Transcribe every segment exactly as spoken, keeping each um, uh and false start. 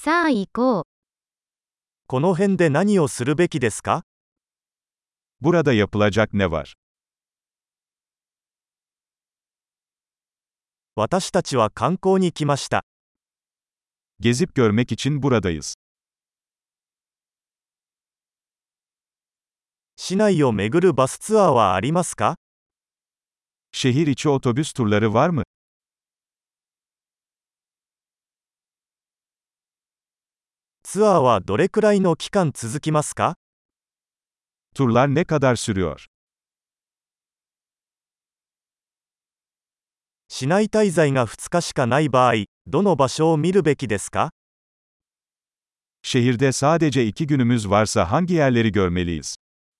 さあ行こう。 この辺で何をするべきですか？ Burada yapılacak ne var? 私たちは観光に来ました。 Gezip görmek için buradayız. 市内を巡るバスツアーはありますか？ Şehir içi otobüs turları var mı? ツアーはどれくらいの期間続きますか？ Turlar ne kadar sürüyor? 市内滞在がふつかしかない場合、どの場所を見るべきですか？ Şehirde sadece iki günümüz varsa hangi yerleri görmeliyiz?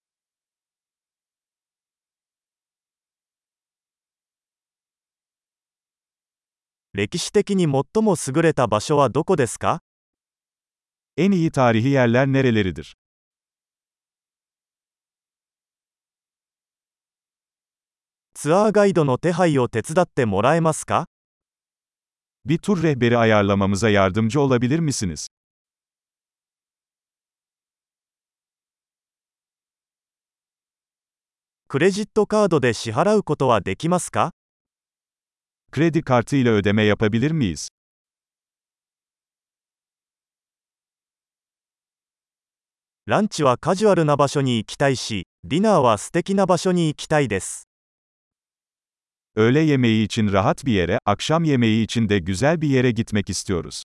歴史的に最も優れた場所はどこですか？ En iyi tarihi yerler nereleridir? ツアーガイドの手配を手伝ってもらえますか？ Bir tur rehberi ayarlamamıza yardımcı olabilir misiniz? クレジットカードで支払うことはできますか？ Kredi kartı ile ödeme yapabilir miyiz? ランチはカジュアルな場所に行きたいし、ディナーは素敵な場所に行きたいです。 Öğle yemeği için rahat bir yere, akşam yemeği için de güzel bir yere gitmek istiyoruz.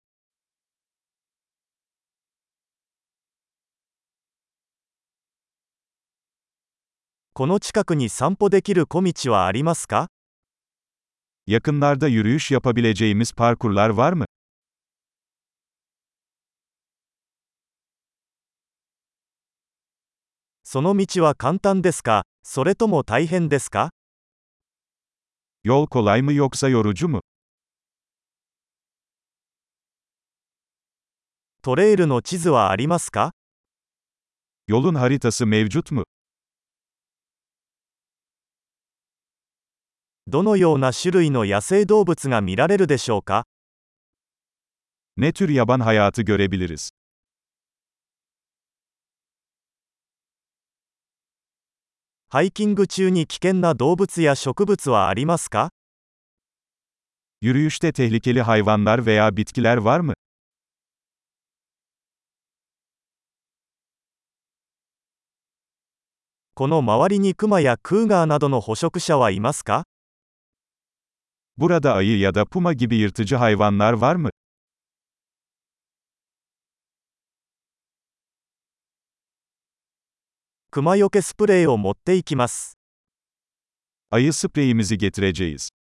この近くに散歩できる小道はありますか？ Yakınlarda yürüyüş yapabileceğimiz parkurlar var mı? その道は簡単ですか、それとも大変ですか？ Yol kolay mı yoksa yorucu mu? トレイルの地図はありますか？ Yolun haritası mevcut mu? どのような種類の野生動物が見られるでしょうか？ Ne tür yaban hayatı görebiliriz? ハイキング中に危険な動物や植物はありますか？ Yürüyüşte tehlikeli hayvanlar veya bitkiler var mı? この周りにクマやクーガーなどの捕食者はいますか？ Burada ayı ya da puma gibi yırtıcı hayvanlar var mı? クマよけスプレーを持っていきます。 Ayı spreyimizi getireceğiz.